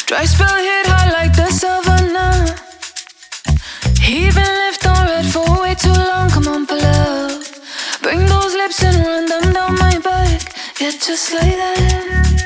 Dry spell hit hard like the savannah. Heaving left on red for way too long. Come on, pull up. Bring those lips and run them down my back. Yeah, just like that.